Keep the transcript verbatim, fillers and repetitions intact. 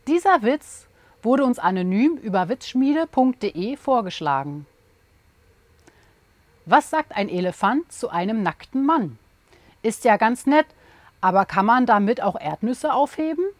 Dieser Witz wurde uns anonym über witzschmiede punkt de vorgeschlagen. Was sagt ein Elefant zu einem nackten Mann? Ist ja ganz nett, aber kann man damit auch Erdnüsse aufheben?